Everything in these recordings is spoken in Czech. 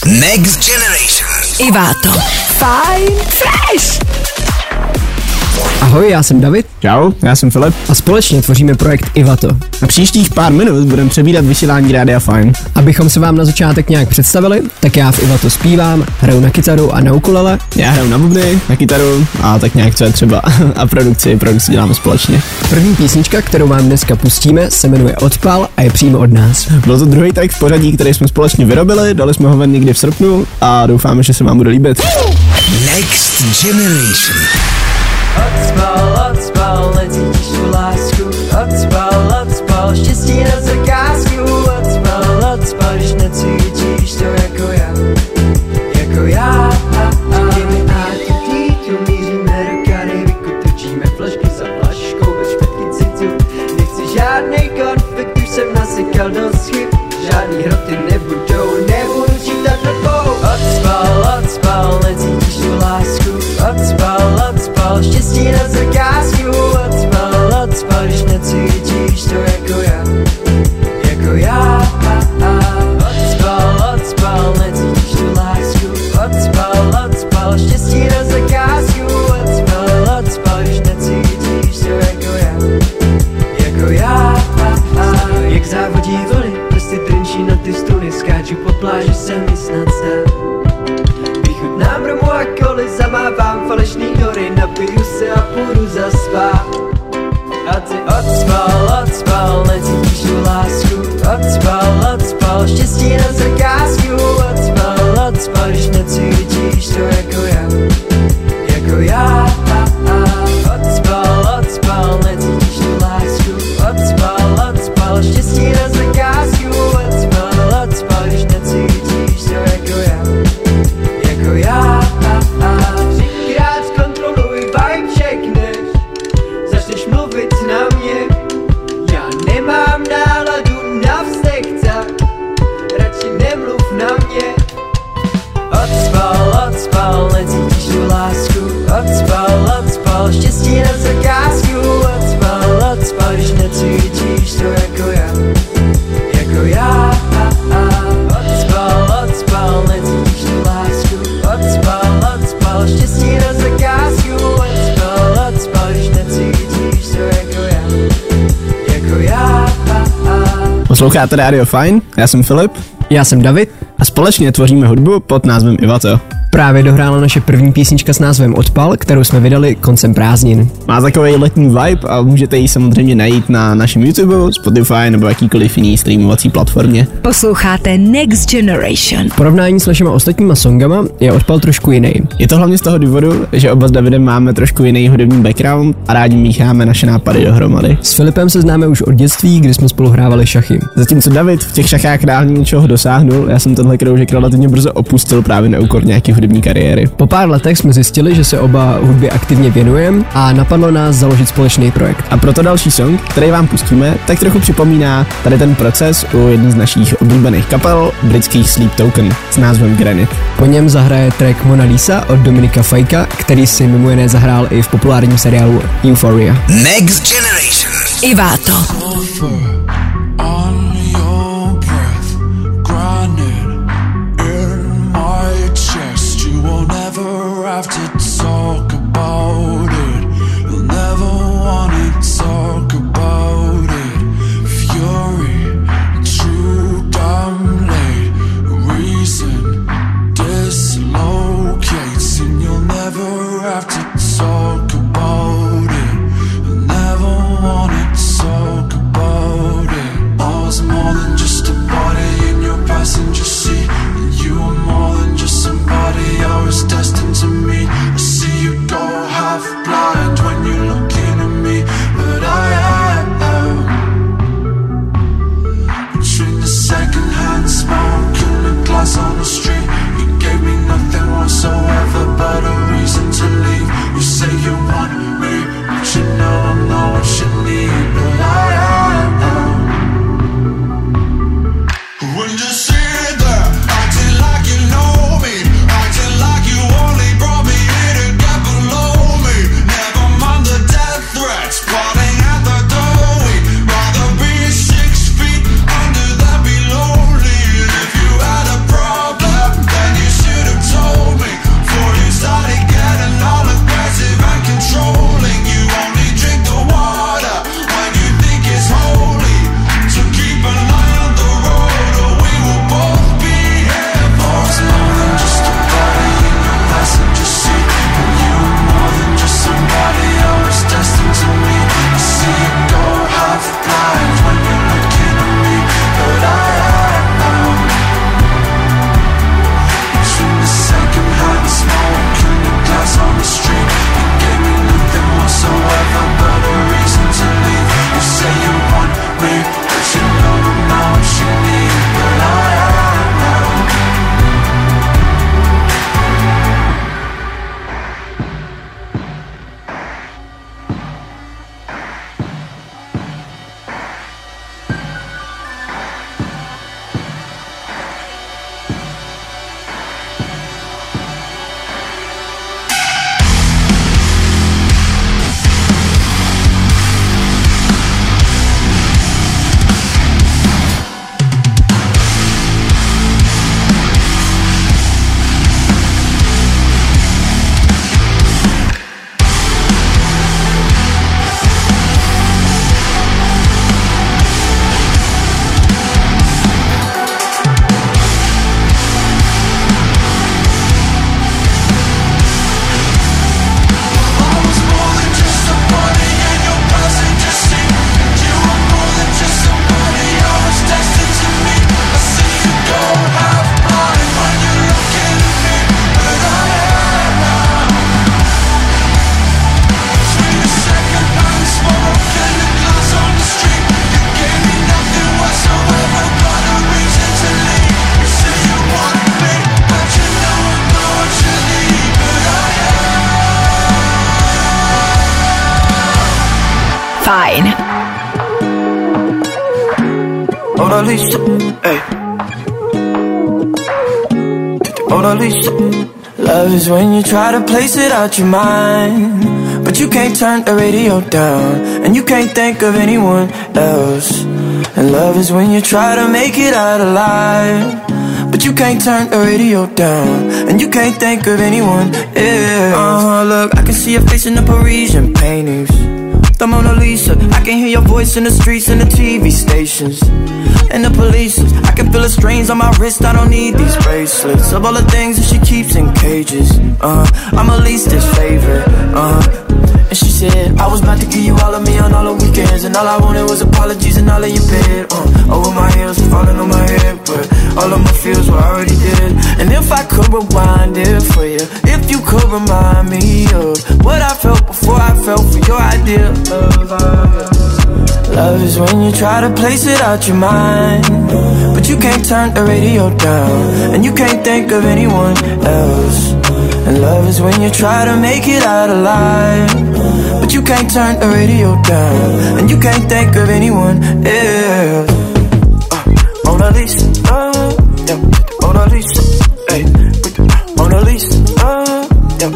Next Generation. Iváto. Fajn fresh. Ahoj, já jsem David. Čau, já jsem Filip. A společně tvoříme projekt Ivato. Na příštích pár minut budeme přebírat vysílání Rádia Fajn. Abychom se vám na začátek nějak představili, tak já v Ivato zpívám, hraju na kytaru a na ukulele. Já hraju na bubny, na kytaru a tak nějak co je třeba. A produkci děláme společně. První písnička, kterou vám dneska pustíme, se jmenuje Odpal a je přímo od nás. Byl to druhý track v pořadí, který jsme společně vyrobili, dali jsme ho ven někdy v srpnu a doufáme, že se vám bude líbit. Next Generation. Odspal, necítíš tu lásku. Odspal, štěstí na zakázku. Odspal, když necítíš to jako já. Řekni mi attitude, míříme do Karibiku, točíme flašky za flaškou, bez špetky citu. Nechci žádnej konflikt, už jsem nasykal dost chyb. Žádný hroty nebudu čítat dobou. Odspal, necítíš tu lásku. Odspal, štěstí na zakázku. Odspal, když necítíš to jako já. Odspal, necítíš tu lásku. Odspal, štěstí na zakázku. Odspal, když necítíš to jako já. Jak závodí vlny, prsty trnčí na ty struny. Skáču po pláži, se mi snad zdá. Vychutnám romu a koli, zamávám falešný dory. Napiju se a půjdu zaspát. A ty odspal, necítíš tu lásku. Odspal, štěstí na zakázku. Odspal, když necítíš to jako já. Odspal, necítíš tu lásku. Odspal, štěstí na zakázku. Odspal, když necítíš to jako já. Třikrát zkontroluj, vibe checkneš. Začneš mluvit na mě. Já nemám náladu na vztek, tak radši nemluv na mě. Odspal, necítíš tu lásku. Odspal, štěstí na zakázku. Odspal, když necítíš to jako já. Odspal, necítíš tu lásku. Odspal, štěstí na zakázku. Odspal, když necítíš to jako já. Posloucháte Rádio Fajn, já jsem Filip. Já jsem David. A společně tvoříme hudbu pod názvem Ivato. Právě dohrála naše první písnička s názvem Odpal, kterou jsme vydali koncem prázdnin. Má takový letní vibe a můžete ji samozřejmě najít na našem YouTube, Spotify nebo jakýkoliv jiný streamovací platformě. Posloucháte Next Generation. V porovnání s našimi ostatníma songama je Odpal trošku jiný. Je to hlavně z toho důvodu, že oba s Davidem máme trošku jiný hudební background a rádi mícháme naše nápady dohromady. S Filipem se známe už od dětství, kdy jsme spolu hrávali šachy. Zatímco David v těch šachách reálně něčeho dosáhnul, já jsem tenhle kroužek relativně brzo opustil právě na úkor nějaký hudební kariéry. Po pár letech jsme zjistili, že se oba hudbě aktivně věnujeme a napadlo nás založit společný projekt. A proto další song, který vám pustíme, tak trochu připomíná tady ten proces u jedné z našich oblíbených kapel, britských Sleep Token s názvem Granite. Po něm zahraje track Mona Lisa od Dominika Fajka, který si mimo jiné zahrál i v populárním seriálu Euphoria. Next Generation. Iváto. Have to talk about it. You'll never want to talk about it. Fury, true damn late. Reason dislocates, and you'll never have to talk about it. You'll never want to talk about it. Fajn. Mona Lisa, hey. Mona Lisa. Love is when you try to place it out your mind, but you can't turn the radio down, and you can't think of anyone else. And love is when you try to make it out alive, but you can't turn the radio down, and you can't think of anyone else. Look, I can see your face in the Parisian paintings, the Mona Lisa. I can hear your voice in the streets and the TV stations and the police. I can feel the strains on my wrist. I don't need these bracelets of all the things that she keeps in cages. I'm her least's favorite. And she said I was about to give you all of me on all the weekends, and all I wanted was apologies and all of your bed. Over my heels, falling on my head, but all of my feels were already dead. And if I could rewind it for you, if you could remind me of what I felt before I fell for your idea of love. Love is when you try to place it out your mind, but you can't turn the radio down, and you can't think of anyone else. And love is when you try to make it out alive, but you can't turn the radio down, and you can't think of anyone else. Mona Lisa, yeah. Mona Lisa, hey. Mona Lisa, yeah.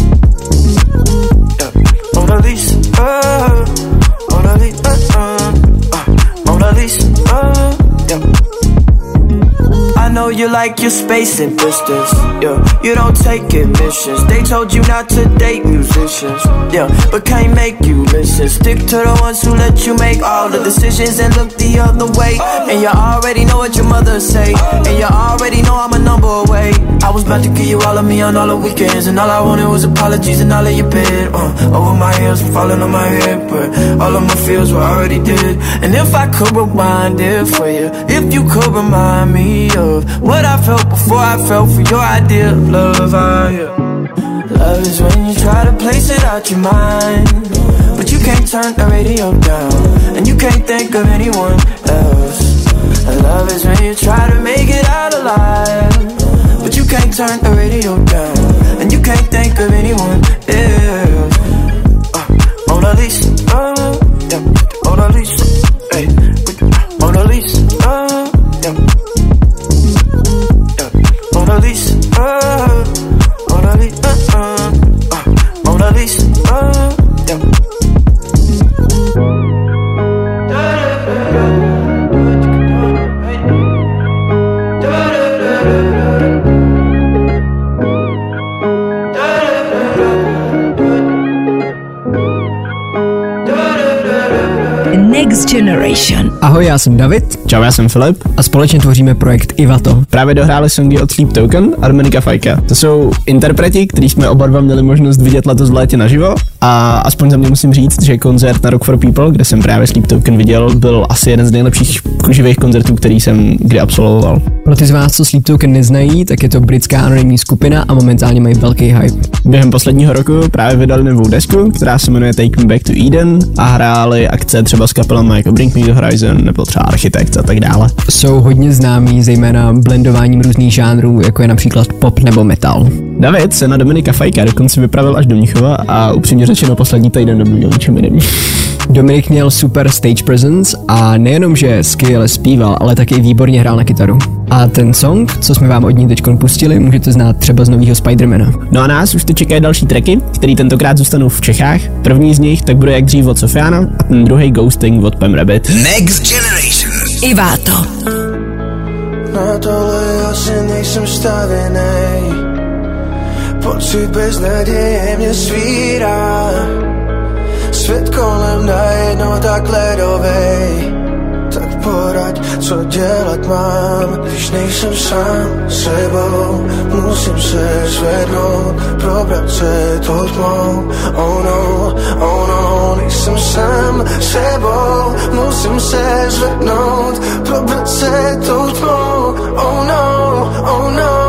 Yeah. Mona Lisa, Mona Lisa, Mona Lisa, yeah. I know you like your space and distance, yeah. You don't take admissions. They told you not to date musicians, yeah, but can't make you listen. Stick to the ones who let you make all the decisions and look the other way. And you already know what your mother say, and you already know I'm a number away. I was about to give you all of me on all the weekends, and all I wanted was apologies and all of your bed. Over my heels, falling on my head, but all of my feels were already dead. And if I could rewind it for you, if you could remind me of what I felt before I fell for your idea of love. Love is when you try to place it out your mind, but you can't turn the radio down, and you can't think of anyone else. And love is when you try to make it out alive, but you can't turn the radio down, and you can't think of anyone else. Mona Lisa, yeah. Mona Lisa, hey. Mona Lisa, yeah. Mona Lisa, Mona Lisa, Mona Lisa, yeah. Next Generation. Ahoj, já jsem David. Čau, já jsem Filip. A společně tvoříme projekt Ivato. Právě dohráli songy od Sleep Token a Dominika Fajka. To jsou interpreti, který jsme oba dva měli možnost vidět letos v létě naživo. A aspoň za mě musím říct, že koncert na Rock for People, kde jsem právě Sleep Token viděl, byl asi jeden z nejlepších živých koncertů, který jsem kdy absolvoval. Pro ty z vás, co Sleep Token neznají, tak je to britská anonymní skupina a momentálně mají velký hype. Během posledního roku právě vydali novou desku, která se jmenuje Take Me Back to Eden, a hráli akce třeba s kapelami jako Bring Me the Horizon nebo třeba Architect a tak dále. Jsou hodně známí zejména blendováním různých žánrů, jako je například pop nebo metal. David se na Dominika Fajka dokonce vypravil až do Mnichova a upřímně řečeno poslední týden nebyl ničem jiným. Dominik měl super stage presence a nejenom, že skvěle zpíval, ale taky výborně hrál na kytaru. A ten song, co jsme vám od ní teďkon pustili, můžete znát třeba z nového Spidermana. No a nás už teď čekají další tracky, který tentokrát zůstanou v Čechách. První z nich tak bude jak dřív od Sofiana a ten druhý Ghosting od Pam Rabbit. Next Generation. Ivato. Na tohle asi nejsem stavěnej, pocit beznaděje mě svírá. Svět kolem najednou tak ledovej, tak poraď, co dělat mám. Když nejsem sám sebou, musím se zvednout, probrat se tou tmou. Oh no, nejsem sám sebou, musím se zvednout, probrat se tou tmou. Oh no.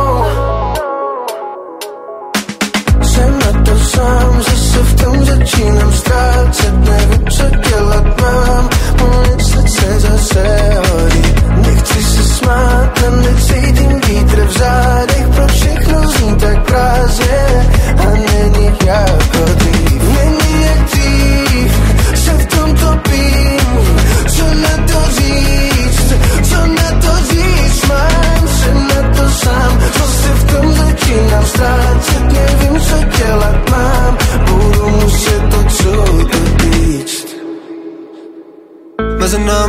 Jsem na to sám, zase v tom začínám ztrácet, nevím, co dělat mám, moje srdce zase hoří. Nechci se smát a necítím vítr v zádech, pro všechno zní tak prázdně a není jako dřív. Není jak dřív, jsem v tomto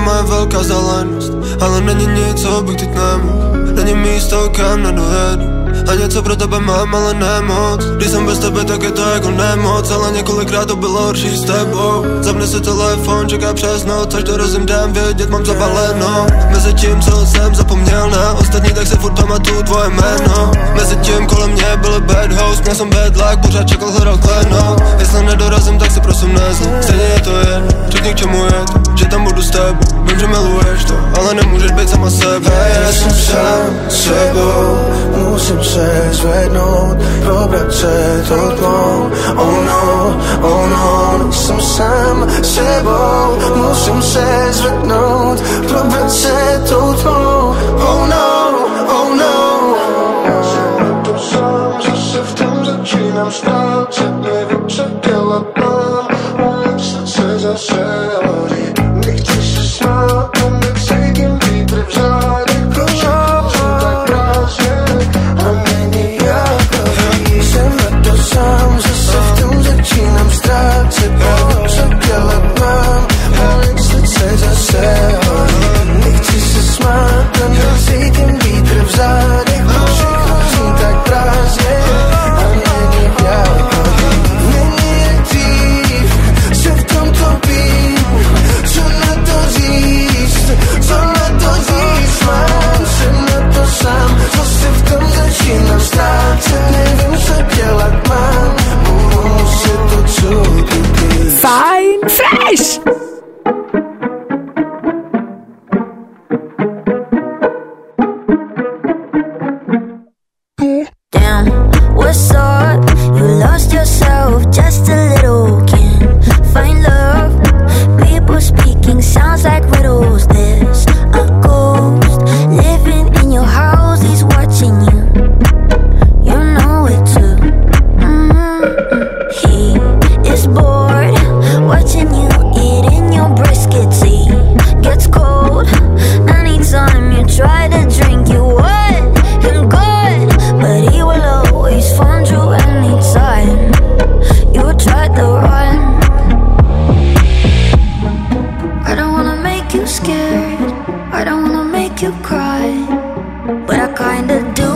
moje velká záležitost, ale není nic, co bych teď nemohl. Není místo, kam nedojedu. A něco pro tebe mám, ale nemoc. Když jsem bez tebe, tak je to jako nemoc. Ale několikrát to bylo horší s tebou. Zapne si telefon, čeká přes noc, až dorazím dám vědět, mám zabaleno. Mezi tím, co jsem zapomněl na ostatní, tak se furt pamatuju tvoje jméno. Mezi tím kolem mě byl bad house, měl jsem bad luck, pořád čekal, hledal kleno. Jestli nedorazím, tak si prosím nezli, stejně je to jedno, řekni k čemu je to, že tam budu s tebou. Vím, že miluješ to, ale nemůžeš být sama sebe. Já jsem sám sebou, musím se zvednout, probrat se tou tmou. Oh no, jsem sám sebou, musím se zvednout, probrat se tou tmou. Oh no. Já jsem na to sám, zase v tom začínám ztrácet, nevím, co dělat mám, moje srdce zase hoří. Nechci se smát, necítím vítr v zádech, proč jsem tak prázdně a není jako ví. Jsem na to sám, zase v tom začínám ztrácet, nevím, co dělat mám, moje srdce zase hoří. Nechci se smát, necítím vítr v zádech, proč jsem tak prázdně a není jako ví. Není jak dřív, se v tom topím, co na to říct, mám se na to sám, zase v tom začínám ztrácet, nevím, co dělat mám, budu muset to, co být. Fine Fresh. Damn, what's up? You lost yourself just a little. Can't find love. People speaking sounds like riddles. There's a ghost living in your house. He's watching you. You know it too. He is bored watching you eating your brisket. He gets cold anytime you try to drink. You wet and good, but he will always find you anytime you try to run. I don't wanna make you scared, I don't wanna make you cry, but I kinda do.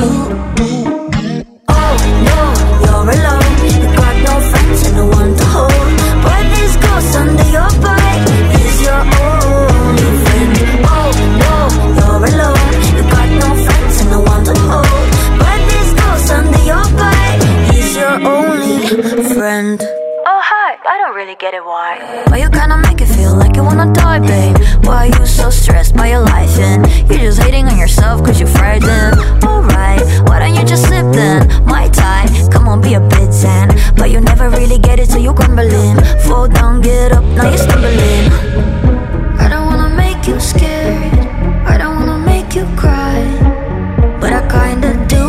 Oh no, you're alone, you got no friends and no one to hold, but this ghost under your bed is your only friend. Oh no, you're alone, you got no friends and no one to hold, but this ghost under your bed is your only friend. Oh hi, I don't really get it why, but you kinda make it feel like you wanna die, babe. Why you so stressed by your life and you're just hating on yourself cause you're frightened. Alright, why don't you just slip then? My tie, come on be a bit zen, but you never really get it so you crumbling. Fall down, get up, now you're stumbling. I don't wanna make you scared, I don't wanna make you cry, but I kinda do.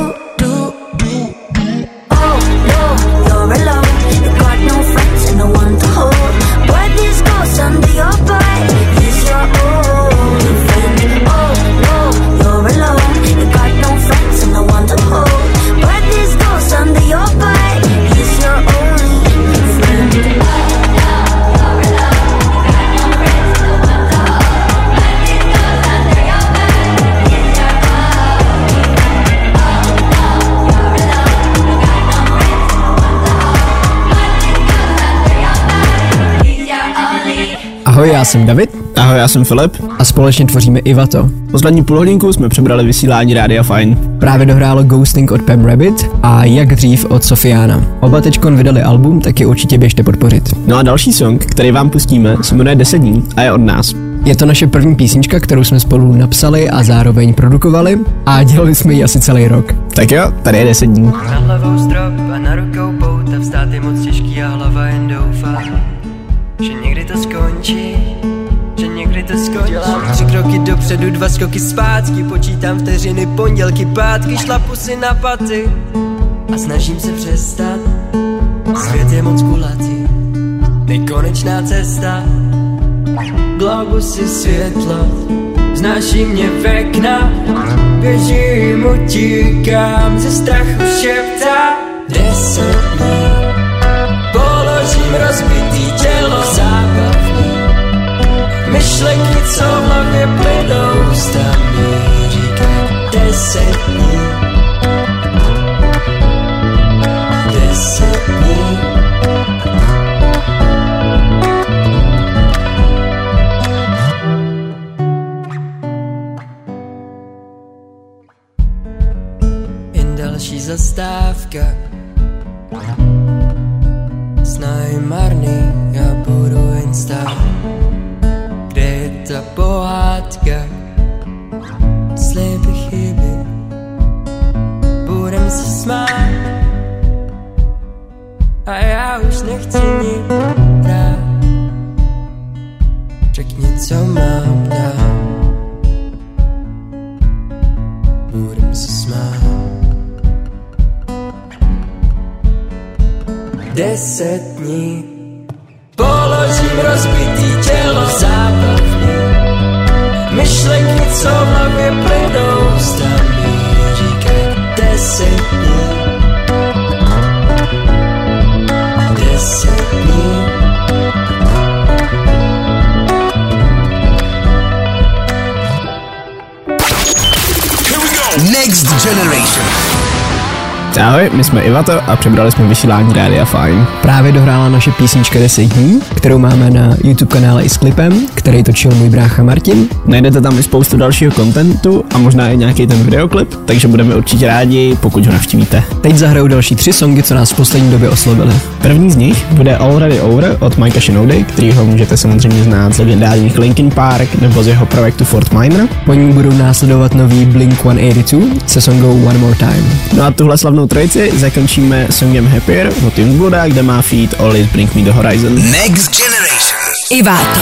Oh no, you're alone, you got no friends and no one to hold, but this ghost under your bed is your only friend. Oh no, you're alone, you got no friends and no one to hold, but this ghost under your bed is your only friend. Ahoj, já jsem David. Ahoj, já jsem Filip. A společně tvoříme Ivato. Poslední půlhodinku jsme přebrali vysílání Rádia Fine. Právě dohrálo Ghosting od Pam Rabbit a Jak dřív od Sofiana. Oba teďkon vydali album, tak je určitě běžte podpořit. No a další song, který vám pustíme, se jmenuje 10 dní a je od nás. Je to naše první písnička, kterou jsme spolu napsali a zároveň produkovali a dělali jsme ji asi celý rok. Tak jo, tady je 10 dní. Nad hlavou strop a na rukou pout a vstát je moc těžký a hlava jen doufá, že někdy to skončí, že někdy to skončí. Dělám 3 kroky dopředu, 2 skoky zpátky, počítám vteřiny, pondělky, pátky, šlapu si na paty a snažím se přestat. Svět je moc kulatý, nekonečná cesta, globusy světlo, znáší mě v okna, běžím, utíkám, ze strachu šeptá 10 dní. Položím rozbitý tělo zábavný, myšlenky, co v hlavě plynou, ústami říkají 10 dní. 10 dní. Jen další zastávka, snahy marný, já budu jen stát. Kde je ta pohádka, sliby chyby, budem se smát. A já už nechci nic brát. Řekni, co mám dát, budem se smát. 10 dní položím rozbitý tělo v zábavně. Myšlenky, co v hlavě plynou, ústami říkají 10 dní. 10 dní. Next Generation. Ahoj, my jsme Ivato a přebrali jsme vysílání Rádia Fajn. Právě dohrála naše písnička 10 dní, kterou máme na YouTube kanále i s klipem, který točil můj brácha Martin. Najdete tam i spoustu dalšího kontentu a možná i nějaký ten videoklip, takže budeme určitě rádi, pokud ho navštívíte. Teď zahrajou další 3 songy, co nás v poslední době oslovily. První z nich bude Already Over od Mikea Shinody, kterýho můžete samozřejmě znát z legendárních Linkin Park nebo z jeho projektu Fort Minor. Po ní budou následovat nový Blink-182 se songou One More Time. No a tuhle slavnou trojici zakončíme songem Happier od Youngbluda, kde má feat Always Bring Me The Horizon. Next Generation. Ivato.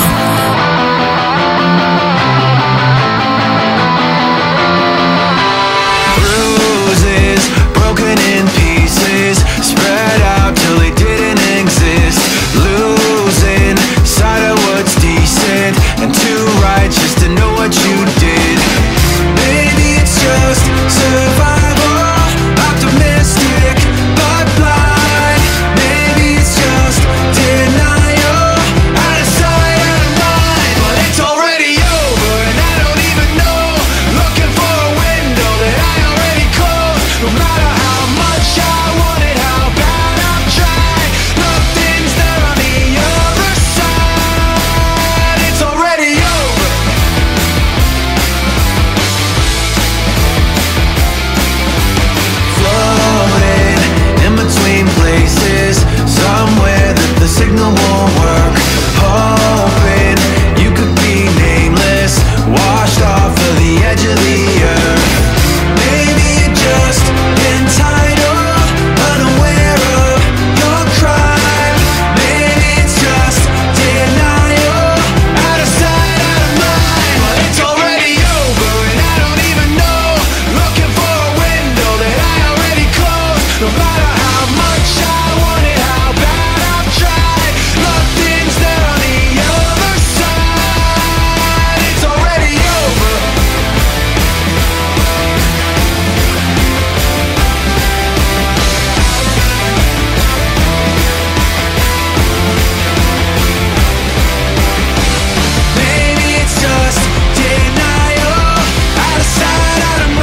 Bruises, broken in pieces, spread out till they didn't exist. Losing sight of what's decent and too righteous to know what you did. Maybe it's just survival, optimistic but blind. Maybe it's just denial, out of sight, out of mind. But it's already over and I don't even know. Looking for a window that I already closed. No matter how much I want it, how bad I've tried, nothing's there on the other side. It's already over. Floating in between places, somewhere that the signal won't work. Hoping you could be nameless, washed off of the edge of the earth. Maybe you're just entitled, unaware of your crime. Maybe it's just denial, out of sight, out of mind. But it's already over and I don't even know. Looking for a window that I already closed. No matter how much I want it, how bad I've tried, nothing's there on the other side. It's already over. Maybe it's just denial, out of sight, out of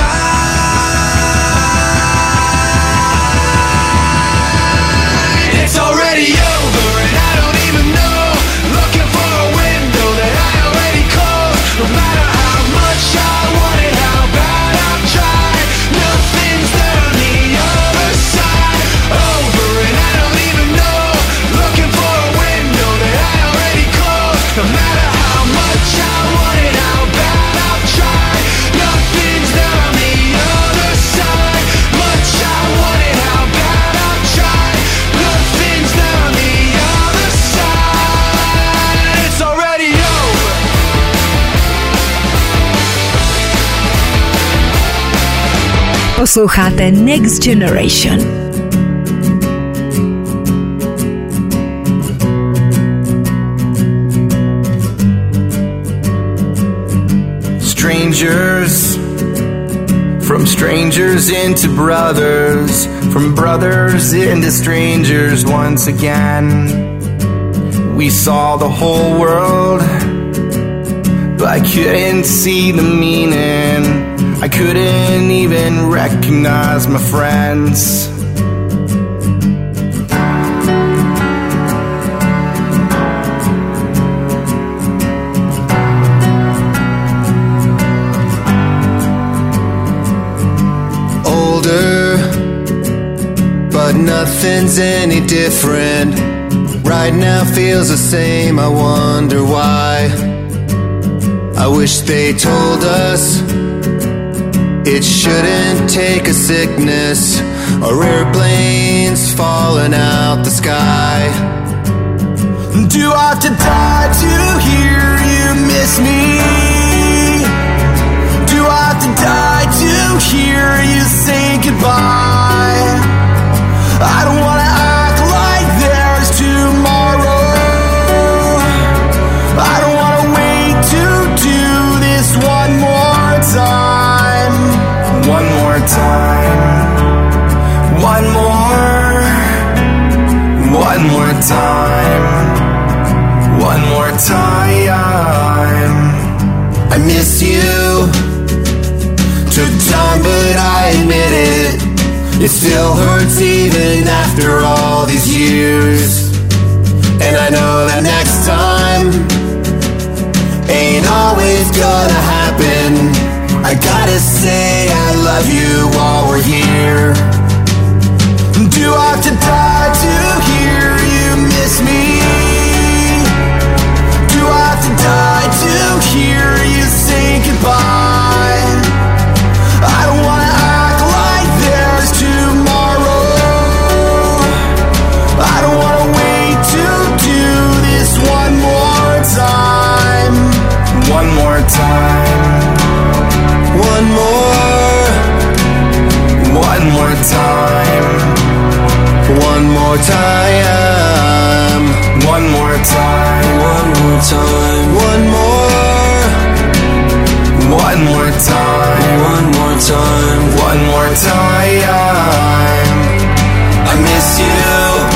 mind. It's already over and I don't even know. Looking for a window that I already closed. No matter how much I want it, how bad I've tried, nothing's there on the other side. Over and I don't even know. Looking for a window that I already closed. No matter how much I want it, how bad I've tried, nothing's there on the other side. Much I want it, how bad I've tried, nothing's there on the other side. It's already over. Posloucháte Next Generation. Strangers, from strangers into brothers, from brothers into strangers once again. We saw the whole world, but I couldn't see the meaning. I couldn't even recognize my friends. Older, but nothing's any different. Right now feels the same, I wonder why. I wish they told us it shouldn't take a sickness or airplanes falling out the sky. Do I have to die to hear you miss me? Do I have to die to hear you say goodbye? I don't wanna act like there's tomorrow. I don't wanna wait to do this one more time. One more time. One more. One more time. One more time. I miss you. Took time, but I admit it. It still hurts even after all these years. And I know that next time ain't always gonna happen. I gotta say I love you while we're here. Do I have to die to hear you miss me? Do I have to die to hear you say goodbye? I don't wanna act like there's tomorrow. I don't wanna wait to do this one more time. One more time. One more. One more time. One more time. One more time. One more time. One more. One more time. One more time. One more time. I miss you.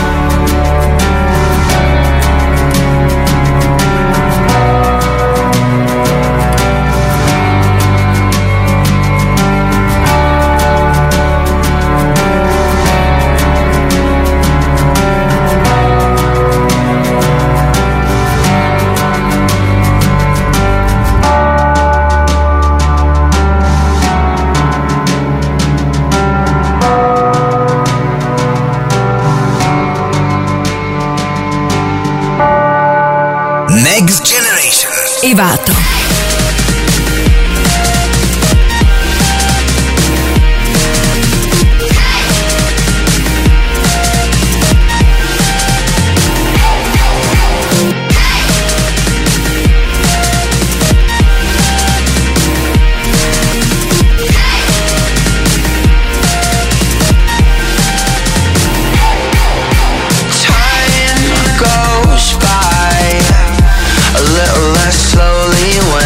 Next Generation. Ivato. Time goes by a little less slowly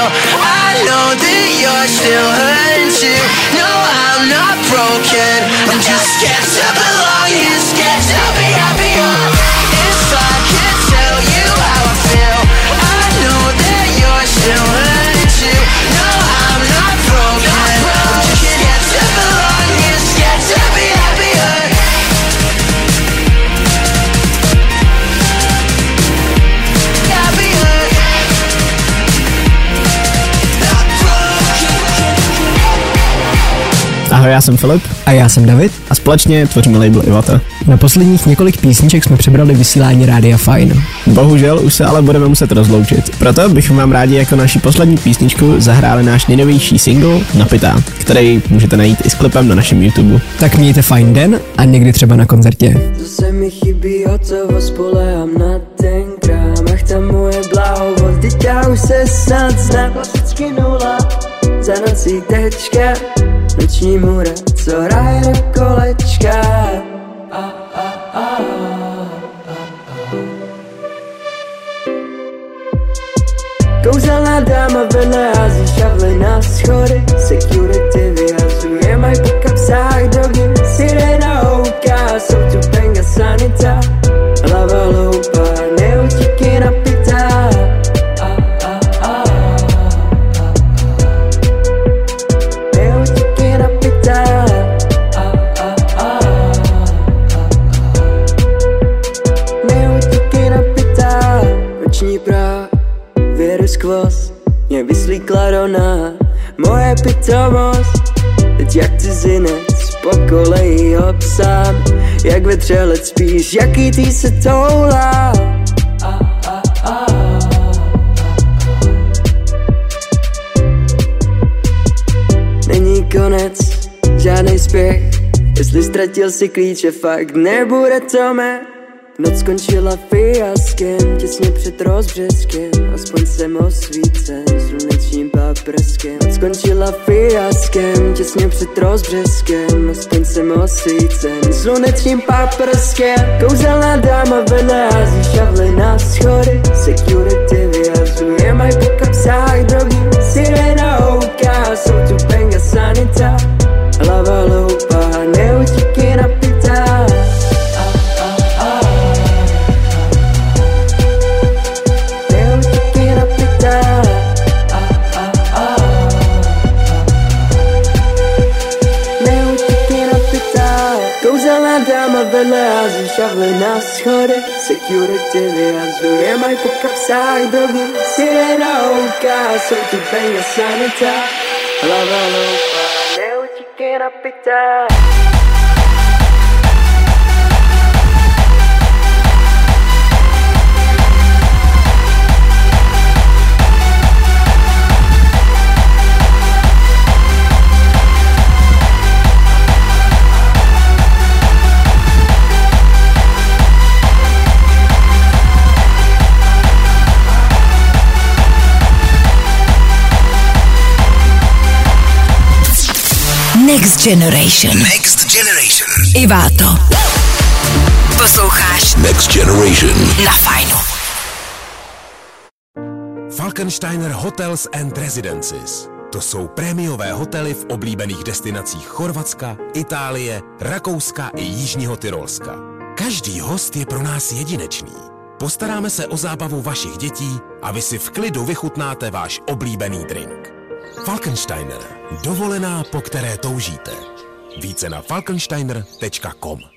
I know that you're still hurting too. No, I'm not broken, I'm just scared to belong. You're scared to be happier. If I could tell you how I feel, I know that you're still hurting too. No, I'm not broken, I'm just scared to belong. You're scared to be happier. Ahoj, já jsem Filip. A já jsem David. A společně tvoříme label Ivata. Na posledních několik písniček jsme přebrali vysílání Rádia Fine. Bohužel už se ale budeme muset rozloučit. Proto bychom vám rádi jako naši poslední písničku zahráli náš nejnovější single Napitá, který můžete najít i s klipem na našem YouTube. Tak mějte fajn den a někdy třeba na koncertě. Zase mi chybí hotovo, spolehám na ten krám. Ach, ta moje blahovost, teď já už se snad znám. Klasicky nula, za nocí tečka, noční můra, co hraje do kolečka. Kouzelná dáma vedle hází šavly na schody. Security vyhazuje maj po kapsách drogy. Sirena houká, jsou tu penga sanita. Hlava loupá, neutíky napitá. Neutíky napitá. Neutíky napitá. Noční práh věru skvost, mě vyslíkla Rona. Moje pitomost, teď jak cizinec po koleji obsám. Jak vetřelec spíš, jaký ty se toulá. Není konec, žádnej spěch. Jestli ztratil si klíče, fakt nebude to mé. Noc skončila fiaskem, těsně před rozbřeskem. Aspoň jsem osvícen slunečním paprskem. Noc skončila fiaskem, těsně před rozbřeskem. Aspoň jsem osvícen slunečním paprskem. Kouzelná dáma vedle hází šavly na schody. Security vyhazuje maj po kapsách drogy. Sirena houká, jsou tu penga sanita. Hlava loupá, neutíky napitá. Dáma vedle hází šavly na schody. Security vyhazuje maj po kapsách drogy. Sirena houká, jsou tu penga sanita. Hlava loupá, neutíky napitá. Next Generation. Next Generation. Iváto. Posloucháš Next Generation. na Fajnu. Falkensteiner Hotels and Residences. To jsou prémiové hotely v oblíbených destinacích Chorvatska, Itálie, Rakouska i Jižního Tyrolska. Každý host je pro nás jedinečný. Postaráme se o zábavu vašich dětí a vy si v klidu vychutnáte váš oblíbený drink. Falkensteiner. Dovolená, po které toužíte. Více na falkensteiner.com.